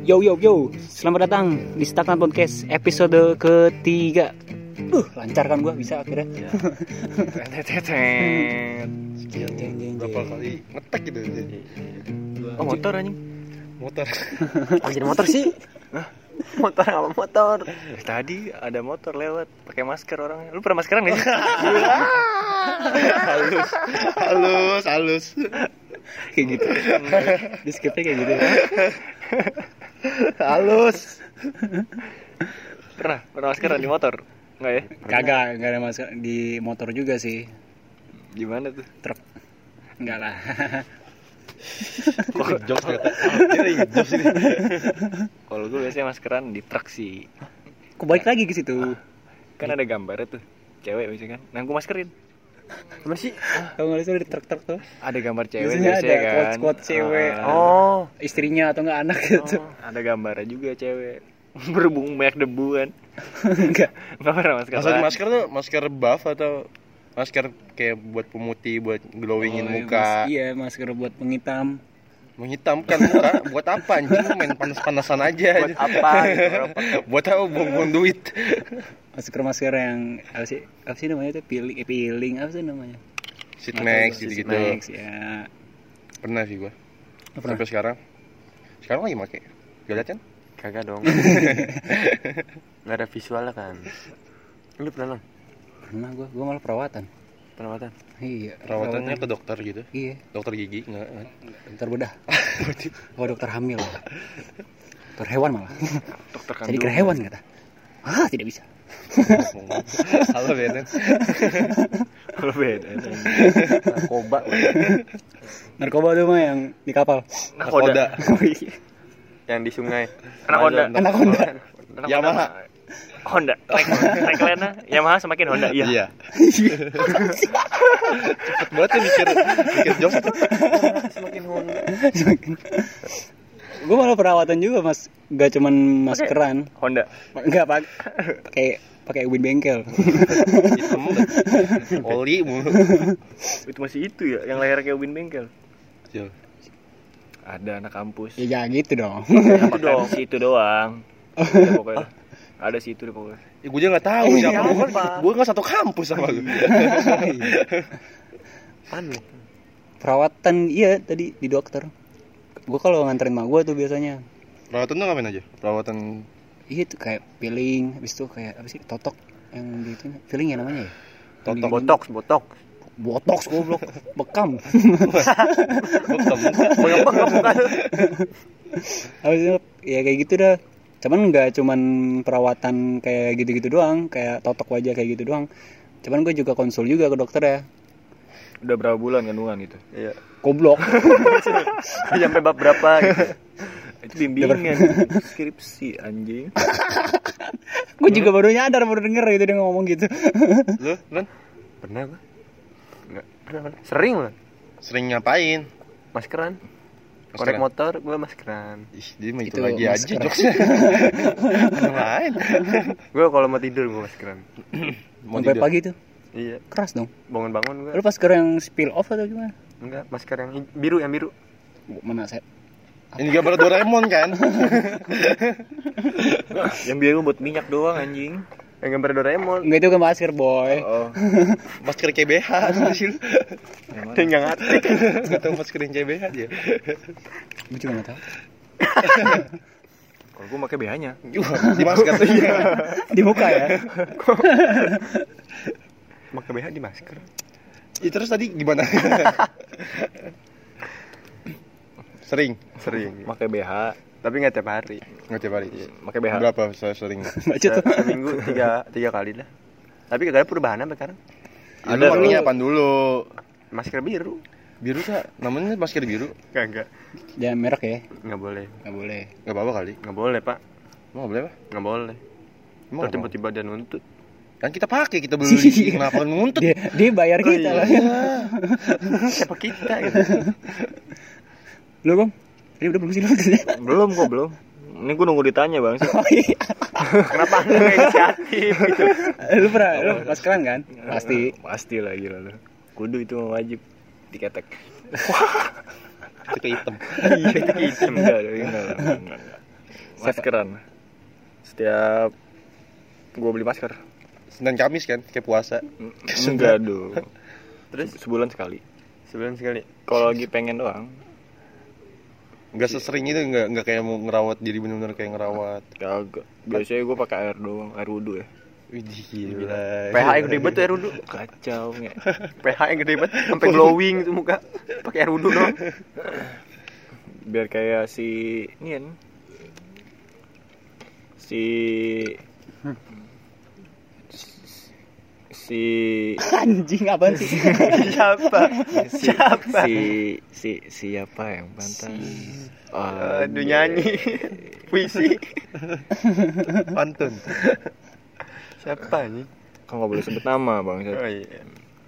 Yo, selamat datang di Stagnan Podcast episode ketiga. Lancar kan gue bisa akhirnya. Berapa kali ngetek gitu. Oh motor anjing. Motor. Oh jadi motor sih? Motor apa motor? Tadi ada motor lewat pakai masker orangnya. Lu pernah maskeran enggak sih? halus. Kayak gitu. Di skipnya kayak gitu. Halus. Pernah maskeran di motor? Enggak ya? Kagak ada masker di motor juga sih. Gimana tuh? Truk. Enggak lah. Jokes kata. Jokes ini. Kalau gue biasanya maskeran di truk sih. Kok balik lagi ke situ? Kan ada gambarnya tuh. Cewek biasanya kan. Nah, gue maskerin. Gimana sih? Kalau nggak salah di truk tuh Ada gambar cewek biasanya ada kan. quote cewek. Oh, Istrinya atau nggak anak gitu. ada gambarnya juga cewek. Berhubung banyak debu kan. Enggak. Enggak pernah maskeran. Maksud masker tuh masker buff atau masker kayak buat pemutih, buat glowingin muka. Iya, masker buat penghitam. Menghitamkan muka. Buat apa anjing? Main panas-panasan aja. Buat apa gitu? Buat apa buang duit? Masker yang apa sih namanya tuh peeling apa sih namanya? Sheet mask gitu. Max ya. Pernah sih gua. Pernah. Sampai sekarang lagi make. Gak liat kan? Kagak dong. Nggak ada visualnya kan. Lu pernah? Pernah gua malah perawatan. Perawatan? Iya. Perawatannya ke dokter gitu. Iya. Dokter gigi enggak. Dokter bedah. Dokter hamil. Dokter hewan malah. Dokter kandung. Jadi ke hewan kata. Tidak bisa. Halo Benen. Kalau beda. Narkoba. Narkoba tuh mah yang di kapal. Nakoda. Yang di sungai. Anaconda. Yamaha. Honda. Tagline-nya Yamaha semakin Honda. Iya. Cepet banget ya mikir jokes itu. Semakin Honda. Gue malah perawatan juga mas, gak cuman maskeran. Honda. Enggak pakai ubin bengkel. Hitam oli mulu. Itu masih itu ya, yang leher kayak ubin bengkel. Yo. Ada anak kampus. Ya jangan gitu dong. Itu dong, situ doang. Ya, pokoknya. Ada situ deh pokoknya. Ya gue juga enggak tahu siapa. Gue enggak satu kampus sama gue. Aneh. Perawatan iya tadi di dokter. Gue kalau nganterin mak gue tuh biasanya. Perawatan tuh ngapain aja? Perawatan Iya tuh kayak peeling, habis itu kayak apa sih totok yang gitu. Peeling ya namanya ya. Totok, Botox goblok, bekam. Bengap bukan. Habis itu ya kayak gitu dah. Cuman enggak cuman perawatan kayak gitu-gitu doang, kayak totok wajah kayak gitu doang. Cuman gue juga konsul juga ke dokter ya. Udah berapa bulan kandungan gitu? Iya. Goblok. Sampai bab berapa gitu. Itu bimbingan skripsi anjing. Gue juga baru nyadar, baru denger gitu dia ngomong gitu. lu, Ren? Pernah gua? Enggak, pernah. Sering lah. Sering ngapain? Maskeran. Korek motor gua maskeran. Ih, dia mah itu Itu lagi masker. aja jokesnya. Main. Gua kalau mau tidur gua maskeran. Mau Sampai tidur. pagi tuh. Iya, Keras dong. bangun-bangun gua. Lu masker yang spill off atau gimana? Enggak, masker yang biru. Mana saya? Ini gambar Doraemon kan? Yang biru buat minyak doang anjing. Yang gambar Doraemon. Enggak, itu kan masker boy. Oh. Masker KBH tuh sih lu. Enggak ngerti. Enggak tahu masker yang KBH dia. Gue juga nggak tahu. Kalau gua pakai BH-nya. Di masker tuh iya. Di muka ya. Pakai BH di masker. Ih, terus tadi gimana? Sering Pakai BH, tapi enggak tiap hari. nggak tiap hari. Pakai BH. Berapa saya sering? Baca tuh. Seminggu 3 kali lah. Tapi kagak ada perubahan apa sekarang. Ada makanya apaan dulu? Masker biru. Biru tak? Namanya masker biru? Kagak. Jangan merek ya. Enggak boleh. Enggak boleh. Nggak apa-apa kali. Enggak boleh, Pak. Emang nggak boleh apa? Enggak boleh. Emang Terus apa? tiba-tiba dia nuntut. Kan kita pakai, kita beli. Kenapa nuntut? Dia bayar kita lah. Siapa kita gitu. Lu Bang? Ini udah belum sih lu? Belum kok, belum. Ini gue nunggu ditanya, Bang. Oh iya. Kenapa Anda enggak inisiatif gitu? Lu pernah lu maskeran kan? Pasti. Pasti lah gila lu. Kudu itu mah wajib diketek. Itu kayak hitam. Iya, itu hitam enggak. maskeran. Setiap gue beli masker. Senin Kamis kan kayak puasa. Enggak dong. Terus Sebulan sekali. sebulan sekali. Kalau lagi pengen doang. Enggak sesering itu, enggak kayak mau ngerawat diri benar-benar kayak ngerawat. Kagak. Biasanya gue pakai air doang, air wudhu ya. Widih gila. pH yang gede banget tuh air wudhu. Kacau nggak? pH yang gede banget sampai glowing tuh muka. Pakai air wudhu doang. Biar kayak si ini kan. Si Anjing apaan sih? Siapa? Siapa? siapa yang pantas? Aduh nyanyi. Puisi. Pantun. Siapa nih? Kan nggak boleh sebut nama bang. Oh iya.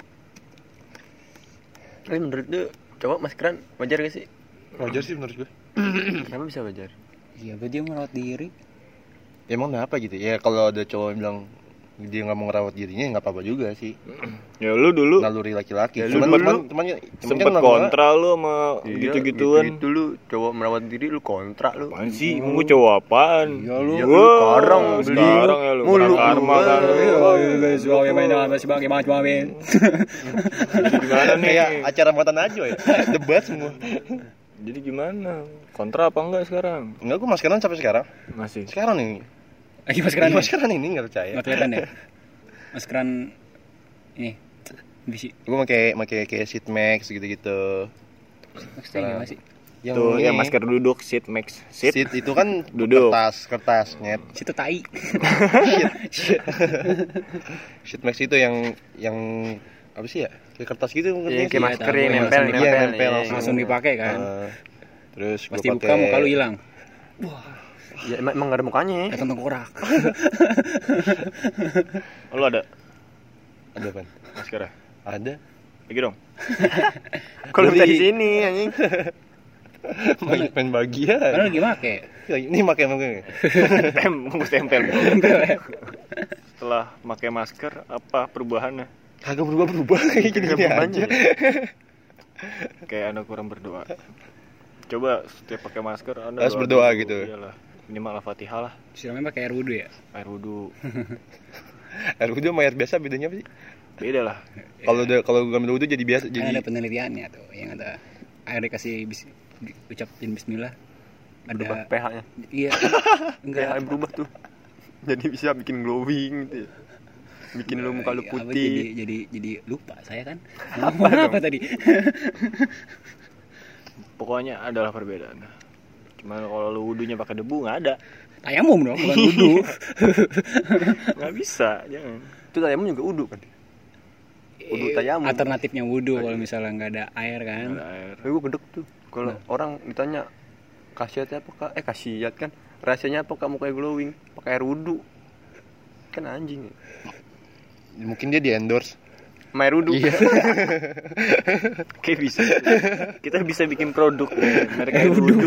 Tapi menurut lu coba maskeran wajar gak sih? Wajar sih menurut gue. Kenapa bisa wajar? Iya, dia merawat diri. Emang kenapa gitu? Ya kalau ada cowok yang bilang dia nggak mau ngerawat dirinya, nggak apa-apa juga sih. Ya lu dulu Naluri laki-laki. Ya, lu cuman sempet kan kontra lu sama Iya, gitu-gituan. Gitu lu cowok merawat diri lu kontrak lu. Apaan sih? Emang gue cowok apaan? Iya, lu. Iya, Wah, lu sekarang beli. sekarang ya lu. Mulu. Kena karma kan. Sebagai mainan sebagai macam Gimana nih? kayak acara muatan aja ya. Debat semua. Jadi gimana? Kontra apa enggak sekarang? Enggak, gue maskeran sampai sekarang. Masih. Sekarang nih. lagi maskeran. Maskeran ini nggak percaya. Nggak kelihatan ya? Maskeran ini bisi. Gue pakai kayak sheet max gitu-gitu. Maksudnya gimana sih? Yang Tuh, ini, yang masker duduk, sit max, sit. sheet itu kan Duduk. kertas nyet. Situ tai. Sheet max itu yang apa sih ya? Kayak kertas gitu mungkin. Iya, kayak masker tahu, yang yang nempel, langsung- iya, nempel Iya, langsung. Langsung dipakai kan. Terus Pasti gue buka muka lu hilang. Ya emang gak ada mukanya ya. Datang tengkorak. Oh, lu ada Ada apa? masker? Ada. Lagi dong. Kalau Beli. minta di sini anjing. Main bagian. Karena lagi make. Ini pakai. Mesti tempel. Setelah pakai masker, apa perubahannya? Kagak berubah kayak gini aja. Kayak Anda kurang berdoa. Coba setiap pakai masker Anda Harus berdoa dulu. gitu. Iyalah. Minimal Al-Fatihah lah, Siramnya pakai air wudhu ya? air wudhu. Air wudhu sama air biasa bedanya apa sih? Beda lah. Kalau ngambil wudhu jadi biasa Kan jadi ada penelitiannya tuh yang ada air dikasih ucapin bismillah. Berubah Ada pH-nya. iya. Enggak pH berubah tuh. Jadi bisa bikin glowing gitu. Ya. Bikin lu muka lu Apa, putih. jadi lupa saya kan. Ngomong apa tadi? Pokoknya adalah perbedaan. Cuman kalau lu wudhunya pakai debu nggak ada. Tayamum dong, bukan wudhu. Nggak bisa, jangan. Itu tayamum juga udu kan. Wudhu tayamum. Alternatifnya wudhu kalau misalnya nggak ada air kan. Nggak ada air. Tapi gue gedek tuh. Kalau orang ditanya khasiatnya apa kak? Khasiat kan. Rahasianya apa kamu kayak glowing? Pakai air wudhu. Kan anjing. mungkin dia di endorse. Air wudhu. Iya. Kayak bisa. Kita bisa bikin produk mereka wudhu.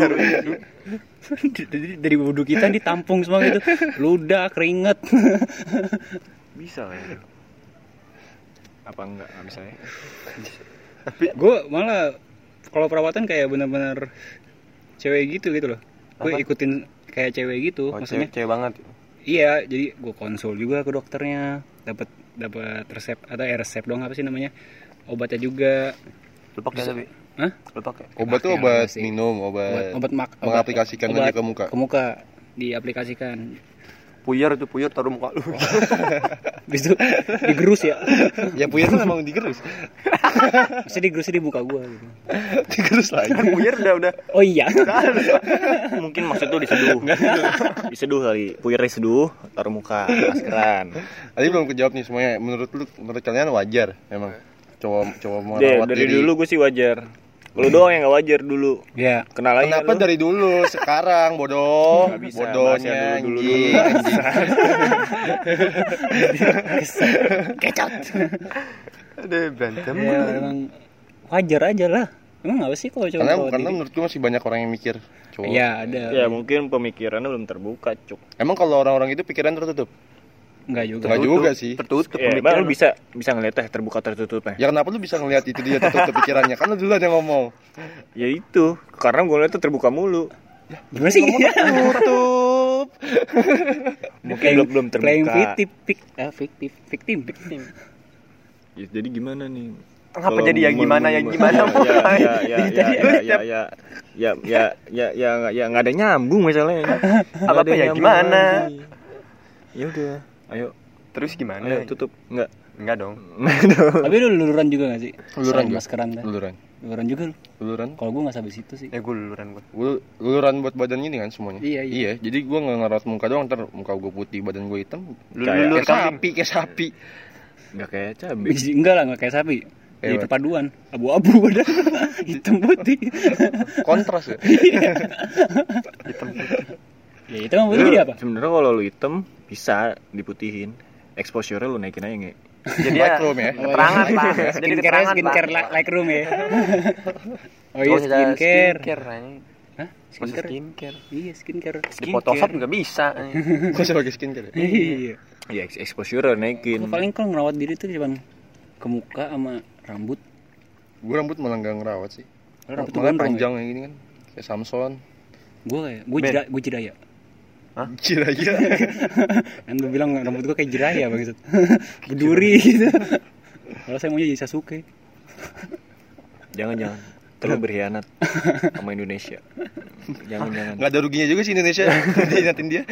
dari wudhu kita ditampung semua gitu. Ludah, keringet. Bisa lah ya. Apa enggak bisa ya? Gue malah kalau perawatan kayak benar-benar cewek gitu loh. Gue Apa? ikutin kayak cewek gitu, Oh, maksudnya. cewek banget. Iya, jadi gue konsul juga ke dokternya, dapat resep atau resep dong apa sih namanya, obatnya juga. Lu pakai tapi. Hah? Lu pakai. Obat tuh Pakai obat sih. minum, Obat mengaplikasikan aja ke muka. Ke muka diaplikasikan. Puyer taruh muka lu. Habis itu digerus ya. Ya puyer kan emang digerus. Mesti digerusnya di muka gue gitu. Digerus lagi. Kan puyer udah. Oh iya. Mungkin maksud tuh diseduh. Diseduh kali. Puyer diseduh, taruh muka, maskeran. Tadi belum kejawab nih semuanya. Menurut kalian wajar memang cowok mau Deh, rawat dari diri. dulu gue sih wajar. Lu doang yang gak wajar dulu. Ya. Kenal aja Kenapa lu. dari dulu sekarang bodoh? Nggak bisa, Bodohnya bahasnya dulu. anjing. Kecot. Ada berantem. Ya emang wajar aja lah. Emang apa sih kalau cowok Karena rawat diri? menurut gue masih banyak orang yang mikir cowok. Iya ada. Ya mungkin pemikirannya belum terbuka, cuk. Emang kalau orang-orang itu pikiran tertutup? Enggak juga. Enggak juga sih. Tertutup Ya, pemikiran. lu bisa ngeliatnya terbuka tertutupnya. Ya kenapa lu bisa ngelihat itu dia tertutup pikirannya? Kan lu duluan yang ngomong. Ya itu, karena gue lihat tuh terbuka mulu. Gimana sih? Tutup. jawab. Mungkin belum playing terbuka. victim. Ya, jadi gimana nih? Ngapa jadi yang gimana Ya nggak ada nyambung masalahnya. Apa ya gimana? Ya udah, ayo Terus gimana? ayo tutup. Enggak dong. Tapi lu luluran juga gak sih? Luluran Selain juga. maskeran dah. Luluran juga lu. Luluran. Kalau gue nggak sampai situ sih. Gue luluran gue. Luluran buat badan gini kan semuanya. Iya. Jadi gue nggak ngerawat muka doang, ntar muka gue putih, badan gue hitam. Lulur Kayak sapi. Nggak kayak cabai. Enggak lah, nggak kayak sapi. Jadi Kayak perpaduan, abu-abu badan, hitam putih. Kontras ya. Ya itu mah putih jadi apa? Sebenarnya kalau lu hitam bisa diputihin. Exposure lu naikin aja nggak? Jadi Lightroom ya. keterangan Pak. Jadi keterangan Skincare Pak. like room ya. Oh iya skincare. Hah? Skincare. Skincare. Iya skincare. Di Photoshop juga bisa. Gue sebagai skincare. Iya. Ya exposure naikin. Gua paling kalau ngerawat diri tuh cuman ke muka sama rambut. Gue rambut malah nggak ngerawat sih. Rambut Malah gondrong panjang kayak gini kan. Kayak Samson. Gue jiraya. Jiraya. Kan lu bilang rambut gue kayak jiraya begitu. Berduri gitu. Kalau saya maunya jadi Sasuke. Jangan. Terlalu berkhianat sama Indonesia. Jangan. Nggak ada ruginya juga sih Indonesia. Diinatin dia.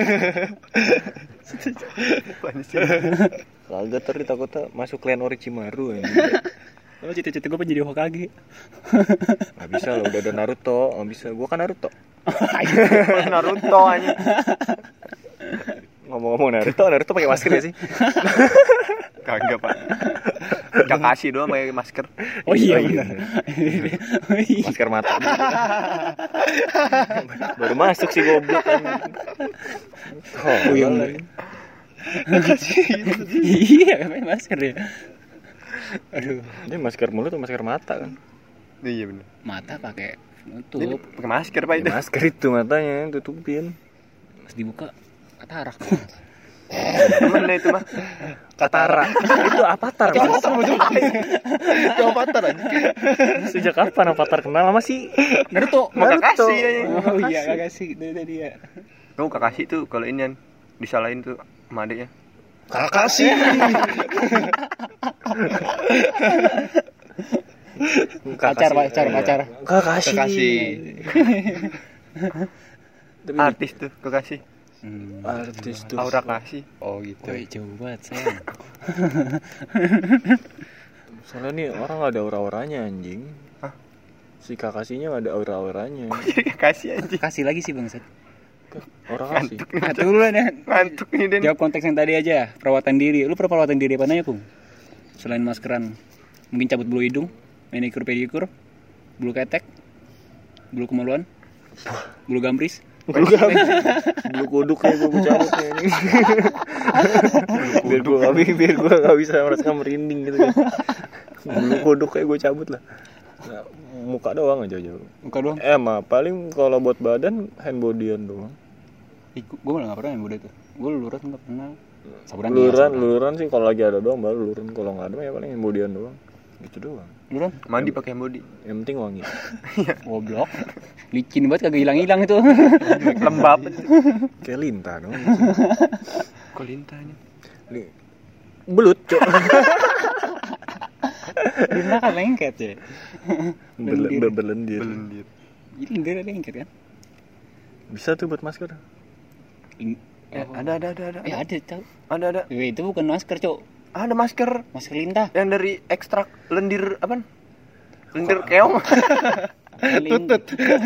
Kagak tadi takutnya masuk klan Orochimaru aja. Oh cita-cita gue pengen jadi Hokage. Gak bisa loh, udah ada Naruto. Gak bisa, gua kan Naruto. Naruto aja. Ngomong-ngomong Naruto pakai masker ya sih? Kagak Pak. Kakashi doang pakai masker. Oh iya benar. Masker mata. Baru masuk sih goblok. Oh iya. Iya, pakai masker ya. Aduh, Ini masker mulut atau masker mata kan? Iya benar. mata pakai nutup, Pakai masker Pak itu. Ya, masker itu matanya tutupin. pas dibuka katarak. Mana itu mah? Katara. Itu Avatar. Mas. Itu Avatar aja. Sejak kapan Avatar kenal sama si Naruto. Kakashi aja. Oh iya, Kakashi itu dia. Kamu Kakashi tuh kalau ini disalahin tuh sama adiknya. Kakashi. Pacar. Kakashi. Artis tuh Kakashi. Artis tuh. Aura Kakashi. Oh gitu. Woi, jauh banget sayang. Soalnya nih orang gak ada aura-auranya anjing. Hah? Si Kakashinya gak ada aura-auranya. Jadi Kakashi aja. Kasih lagi sih bangsat. Orang kasih. Nah, duluan ya. Ngantuk nih Den. Jawab konteks yang tadi aja, perawatan diri. Lu pernah perawatan diri apa nanya, Kung? Selain maskeran. Mungkin cabut bulu hidung, manicure pedicure, bulu ketek, bulu kemaluan, bulu gambris. Bulu kuduk kayak gue cabut ya ini. biar gue gak bisa merasakan merinding gitu kan. Bulu kuduk kayak gue cabut lah. Nah, muka doang aja jauh. Muka doang. Mah paling kalau buat badan hand bodyan doang. Gue malah gak pernah yang udah itu. Gue luluran gak pernah. Saburan Luluran sih kalau lagi ada doang baru luluran. Kalau nggak ada ya paling hand bodyan doang. Gitu doang. Luluran? Mandi pakai body. Yang penting wangi. Goblok. Licin banget kagak hilang-hilang itu. Lembab. Kayak lintah dong. Kok lintahnya? Belut, Cok. Lintah kan lengket ya. Berlendir. Jadi lendir lengket kan? Bisa tuh buat masker. Ada. Ada tau. Ada. Itu bukan masker, Cok. Ada masker Masker lintah. yang dari ekstrak lendir apa? Lendir keong. Tutut.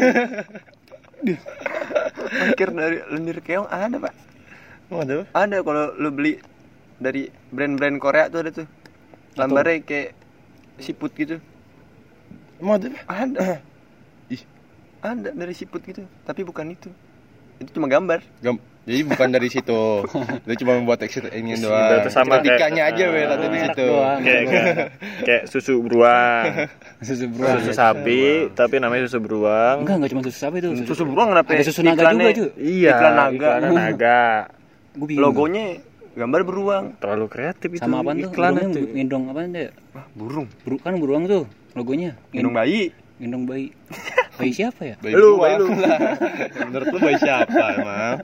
Masker dari lendir keong ada, Pak. Oh, ada. Ada kalau lu beli dari brand-brand Korea tuh ada tuh. Gambarnya kayak siput gitu. Emang ada? Ada. Ih. Ada dari siput gitu, tapi bukan itu. Itu cuma gambar. Jadi bukan dari situ. Dia cuma membuat ini doang. Berarti sama Ketikanya kayak- aja ada di merek situ. doang. Kayak susu beruang. Susu beruang. Susu sapi, tapi namanya susu beruang. Enggak cuma susu sapi itu. Susu beruang kenapa? Ada susu naga juga, Cu. Iya, Iklan naga. iklan naga. Gue bingung. Logonya gambar beruang. Terlalu kreatif itu. Sama apaan tuh? iklan Burungnya itu. gendong apaan deh? Wah, burung. Kan beruang tuh logonya. Gendong bayi. Gendong bayi. Bayi siapa ya? Bayi Lu, gua. bayi lu. Menurut lu bayi siapa emang?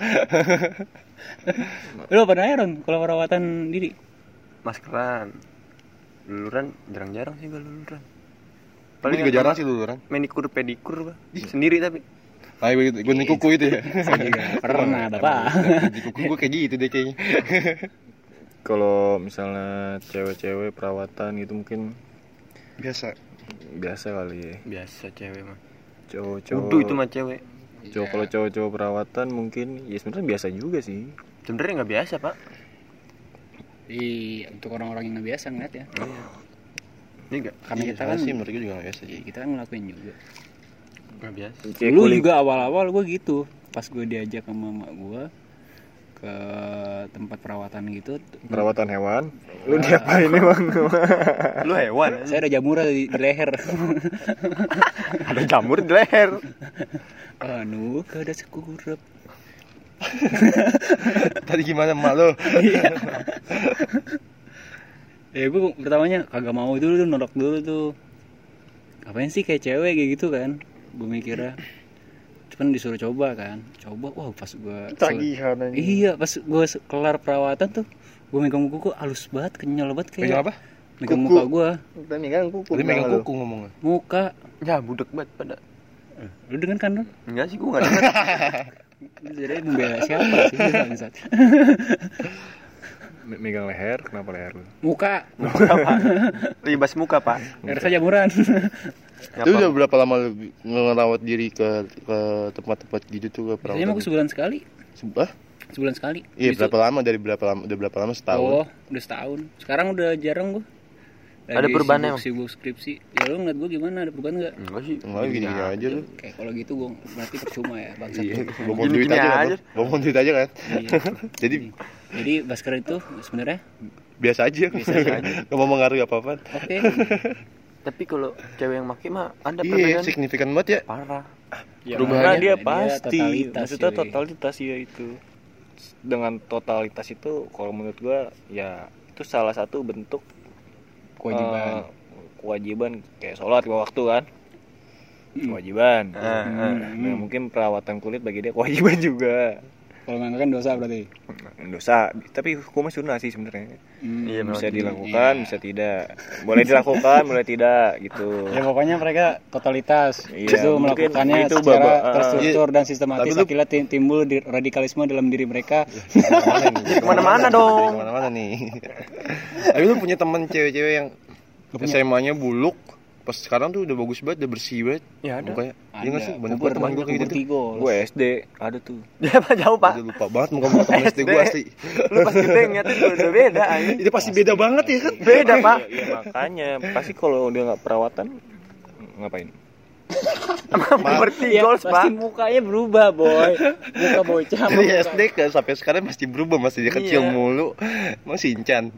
Lu apa nanya Ron kalau perawatan diri? Maskeran. Luluran jarang-jarang sih gua luluran. Paling juga jarang sih luluran. Manikur pedikur gua. Sendiri tapi. Kayak gue nih kuku itu ya. Saya juga pernah Bapak. Di kuku gue kayak gitu deh kayaknya. Kalau misalnya cewek-cewek perawatan gitu mungkin Biasa. biasa kali ya. Biasa cewek mah. Cowok-cowok. Udu itu mah cewek. Kalau cowok-cowok perawatan mungkin ya sebenarnya biasa juga sih. Sebenarnya nggak biasa, Pak. Untuk orang-orang yang nggak biasa ngeliat ya. Ini nggak Karena kita kan sih menurut gue juga gak biasa sih. kita kan ngelakuin juga. nggak biasa. Kayak Dulu kulit- juga awal-awal gue gitu. Pas gue diajak sama mama gue ke tempat perawatan gitu. perawatan hewan. Lu diapain emang? Lu hewan. Saya ada jamur di leher. Ada jamur di leher. Anu, ada sekurup. Tadi gimana emak lo? Ya gue pertamanya kagak mau dulu tuh, nolak dulu tuh. Ngapain sih kayak cewek kayak gitu kan? Gue mikirnya. Cuman disuruh coba kan. Coba, wah pas gue Tagihan aja. Iya, pas gue kelar perawatan tuh, gue megang kuku halus banget, kenyal banget kayak. Megang apa? Megang Kuku. muka gue, Udah megang kuku. Tadi megang kuku ngomongnya. muka. Ya, budek banget pada. Lu dengan kan Ron? Enggak sih, gua enggak dengar. Jadi membela siapa sih bangsat? Megang leher, kenapa leher lu? Muka, Ribas muka, Pak. harus saja jamuran. Itu udah berapa lama lu ngerawat diri ke tempat-tempat gitu tuh ke Biasanya mah perawatan? gue sebulan sekali. Sebulan sekali. Iya, Gitu. berapa lama dari berapa lama? Udah berapa lama setahun? Oh, udah setahun. Sekarang udah jarang gue. Ada perubahan emang? Sibuk skripsi. Ya lu ngeliat gue gimana? Ada perubahan nggak? Enggak sih. Enggak gini-gini aja lu. Kayak kalau gitu gue berarti percuma ya bangsat. Iya, Gua. ngomong Gini-gini duit aja kan. aja. Ngomong duit aja kan. Iya. Jadi Jadi masker itu sebenarnya biasa aja. Biasa aja. Enggak mau mengaruhi apa-apa. oke. Tapi kalau cewek yang make mah ada Iya, perbedaan signifikan banget ya. parah. Ya, Karena makanya dia pasti. totalitas, Maksudnya cuy. totalitas ya itu. Dengan totalitas itu kalau menurut gua ya itu salah satu bentuk Kewajiban. kewajiban kayak sholat lima waktu kan. Kewajiban. Nah, mungkin perawatan kulit bagi dia kewajiban juga. Kalau nggak kan dosa berarti. Dosa, tapi hukumnya sunnah sih sebenarnya. Iya, memang. Bisa dilakukan, bisa tidak. Boleh dilakukan, boleh tidak gitu. Ya pokoknya mereka totalitas Iya, itu mungkin melakukannya itu secara babak, terstruktur dan sistematis. Tapi lu- Akhirnya timbul radikalisme dalam diri mereka. Kemana nih? Kemana-mana dong. Kemana-mana nih. Tapi lu punya teman cewek-cewek yang SMA-nya buluk, pas sekarang tuh udah bagus banget, udah bersih banget. Ya, ada. Mukanya. Iya nggak sih? Banyak Kubur, banget teman gue kayak gitu. Tigol. Gue SD ada tuh. Dia apa jauh, Pak? Udah lupa banget muka-muka temen SD gue asli. Lu pas gede ngeliatnya udah beda anjing. Itu pasti beda banget ya kan? Beda, Pak. Ya makanya pasti kalau dia nggak perawatan ngapain? Seperti Ya, goals, Pak. pasti mukanya berubah, boy. Muka bocah. Dari SD ke sampai sekarang masih berubah, masih dia kecil Iya. mulu. Mau Shinchan.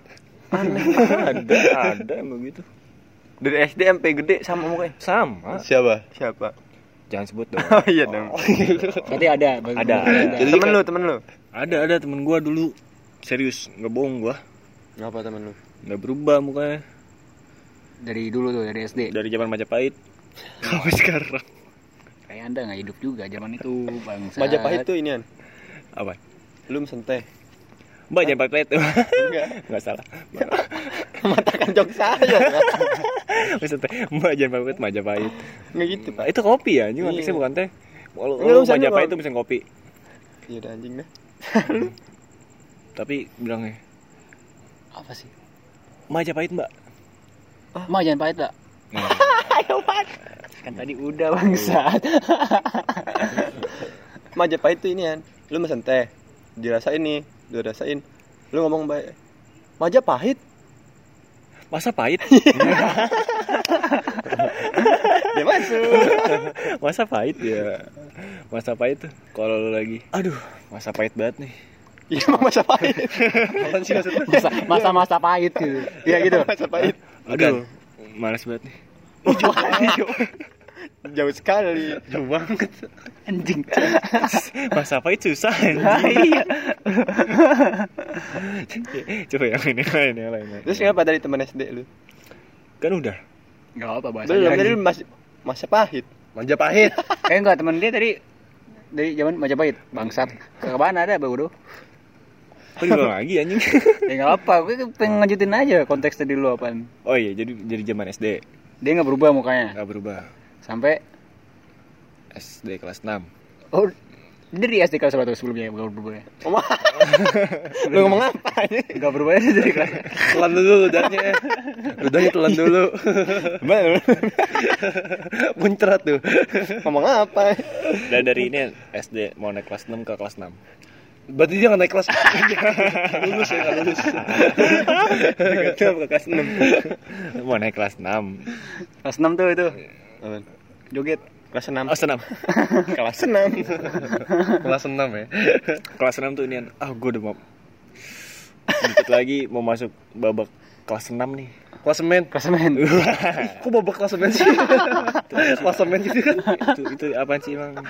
ada emang gitu. Dari SD sampai gede sama mukanya. Sama. Siapa? Siapa? Jangan sebut dong. Oh iya dong. Berarti ada. Ada. Jadi Temen lu. Ada temen gua dulu. Serius, nggak bohong gua. Ngapa temen lu? Nggak berubah mukanya Dari dulu tuh, dari SD. dari zaman Majapahit sampai sekarang. Kayak Anda nggak hidup juga zaman itu, bangsa. Majapahit tuh inian. Apa? Lu mesen teh. Mbak jangan pakai itu. Enggak. Nggak salah. Matakan jok saya. Maksudnya Mbak jangan pakai itu Majapahit. Enggak gitu, Pak. Itu kopi ya, anjing Iya. konteksnya bukan teh. Kalau Enggak, lu sana Majapahit gua- itu bisa kopi. Iya udah anjing dah. Tapi bilangnya Apa sih? Majapahit Mbak. Ma jangan pahit, Pak. Ayo, Pak. Kan tadi udah, bangsat. Majapahit tuh inian. Lu mesen teh. Dirasain nih, udah rasain. Lu ngomong baik. Majapahit. Masa pahit? Dia masuk. Masa pahit ya. Masa pahit tuh kalau lu lagi. Aduh, masa pahit banget nih. Iya, emang Majapahit. apaan sih maksudnya? Masa-masa pahit gitu. Iya gitu. Majapahit. Aduh, males banget nih. Jauh sekali. Jauh banget. Anjing. Masa pahit susah anjing. Coba yang lain. Terus kenapa dari teman SD lu? Kan udah. Enggak apa bahasa. Belum, tadi lu masih Majapahit. Majapahit. Enggak, teman dia tadi dari zaman Majapahit. Bangsat. Ke mana ada, Bro? Kok diulang lagi anjing? Ya enggak apa, gue pengen lanjutin aja konteks tadi lu apaan. Oh iya, jadi zaman SD Dia enggak berubah mukanya. enggak berubah. Sampai SD kelas 6. oh dari SD kelas 1 sebelumnya enggak berubah ya. Lu ngomong apa ini? Enggak berubah ya dari kelas. Telan dulu ludahnya. Ludahnya telan dulu. Muncrat tuh. Ngomong apa? Dan dari ini SD mau naik kelas 6 ke kelas 6. Berarti dia nggak naik kelas. Nggak lulus ya, nggak lulus. Gak ke kelas 6. Mau naik kelas 6. Kelas 6 tuh itu joget. Kelas 6. Oh, senam. Kelas 6. Kelas 6 ya. Kelas 6 tuh ini gue udah mau dikit lagi mau masuk babak kelas 6 nih. Klasemen. Klasemen. Kok babak klasemen sih? Klasemen gitu kan. Itu apaan sih emang?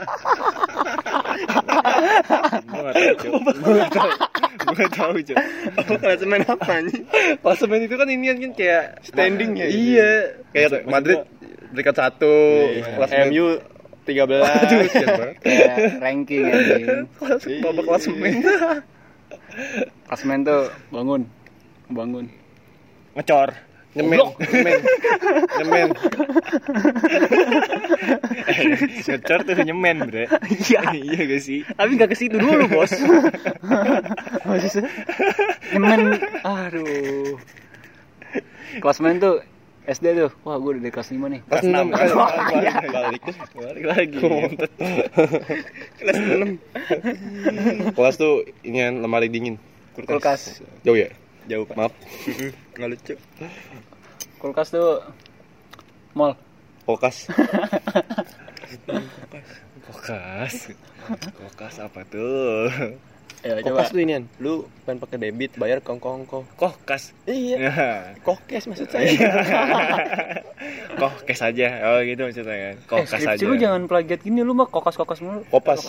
Gue gak tahu, Cok. Apa kelas main apa nih? Klasemen itu kan ini kan kayak Standing ya? Iya. Kayak Madrid peringkat 1, klasemen MU 13. Aduh, kasihan banget. Kayak ranking anjing. Babak klasemen. Klasemen tuh bangun. Ngecor. Nyemen. Ngecor tuh nyemen, Bre. Iya. Iya gak sih? Tapi enggak ke situ dulu, Bos. Maksudnya nyemen. Aduh. Klasemen tuh SD tuh. Wah, gue udah di kelas 5 nih. Kelas 6 kan. Balik lagi. Kelas 6. Kelas tuh ini kan lemari dingin. Kulkas. Jauh ya? Jauh, Pak. Maaf. Enggak lucu. Kulkas tuh mall. Kulkas. Kulkas apa tuh? Ayo coba. Kokes tuh ini, lu pengen pakai debit bayar kongko. Kokkas. Iya. Ya. Kokes maksud saya. Kokes aja. Oh gitu maksudnya kan. Kokes aja. Skripsi lu jangan plagiat gini, lu mah kokas mulu. Kopas.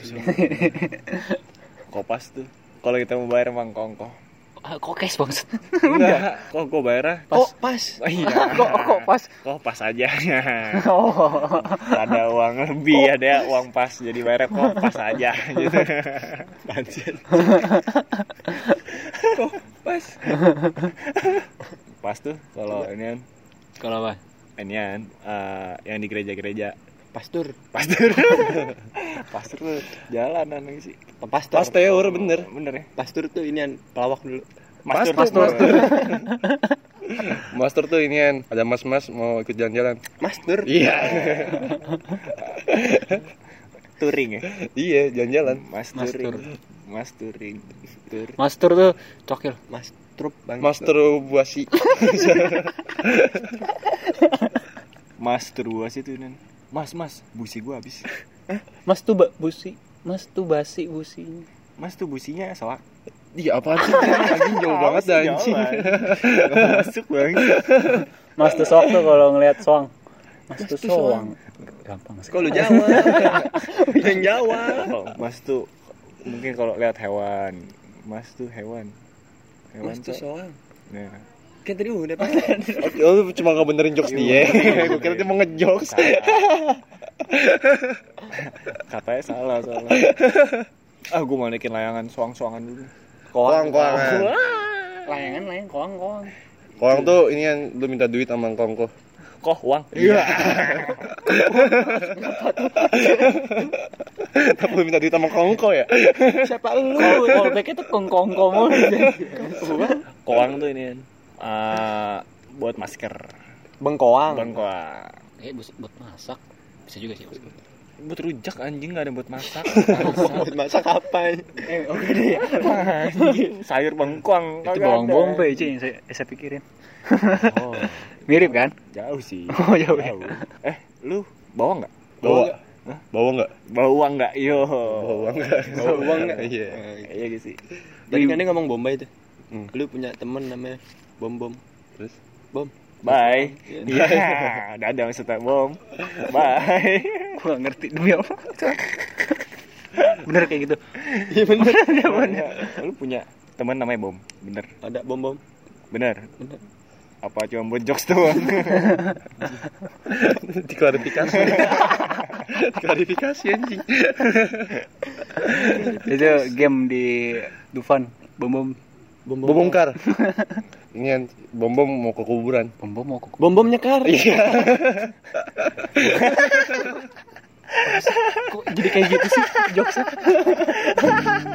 Kopas tuh. Kalau kita mau bayar emang kongko. Kokes banget. Enggak. Kok gue bayar? Oh, pas. Oh, iya. Kok pas? Kopas aja. Oh. Ada uang lebih, ada uang pas. Jadi bayarnya kopas aja gitu. Anjir. Pas. Pas tuh kalau ini kan. Kalau apa? Ini kan yang di gereja-gereja. Pastur. Pastur tuh jalanan sih. Pasteur bener. Bener ya? Pastur tuh ini pelawak dulu. Mastur. Master tuh ini kan ada mas-mas mau ikut jalan-jalan. Mastur. Iya. Touring ya? Iya, jalan-jalan. Masturing. Master tuh cokil. Mastrup bang. Masturbasi. Masturbasi tuh nen. Mas, busi gua habis. Masturbasi busi. Mas tuh businya soak. Iya apaan sih? Anjing jauh banget dah anjing. Masuk bang. Mas tuh soak tuh kalau ngelihat soang. Mas tuh soang. Gampang sih. Kok lu Jawa? Yang Jawa. Oh, mas tuh mungkin kalau lihat hewan. Mas tuh hewan. Mas tuh soang. Nah. Kan tadi udah pakai. Oh, lu cuma ngebenerin jokes dia. Gue kira dia mau ngejokes. Katanya salah. Gue mau naikin layangan soang-soangan dulu. Koang. Layangan koang. Koang tuh ini kan lu minta duit sama kongko. Koh uang. Iya. Tapi lu minta duit sama kongko ya? Siapa lu? Callback itu kongkong mulu. Koang tuh ini buat masker. Bengkoang. Buat masak. Bisa juga sih. Buat rujak anjing, nggak ada buat masak. Buat masak apa? Oke deh. Sayur bengkoang. Itu bawang bombay sih yang saya pikirin. Oh, Mirip kan? jauh sih. Oh, jauh ya. Lu bawang nggak? Bawa enggak? Bawang nggak? Yo. Bawa enggak? Iya. Iya gitu sih. Tadi kan dia ngomong Bombay tuh. Lu punya temen namanya Bom. Terus? Bom. Bye. Iya. Dadah maksudnya bom. Bye. Gua gak ngerti demi apa. Bener kayak gitu. Iya bener. Lu punya teman namanya Bom, bener? Ada Bom. Bener. Apa cuma buat jokes doang? Diklarifikasi. Klarifikasi anjing. Itu game di Dufan, bom Bongkar. Ini kan bom mau ke kuburan. mau kok. Bom nyekar. Kok jadi kayak gitu sih jokesnya?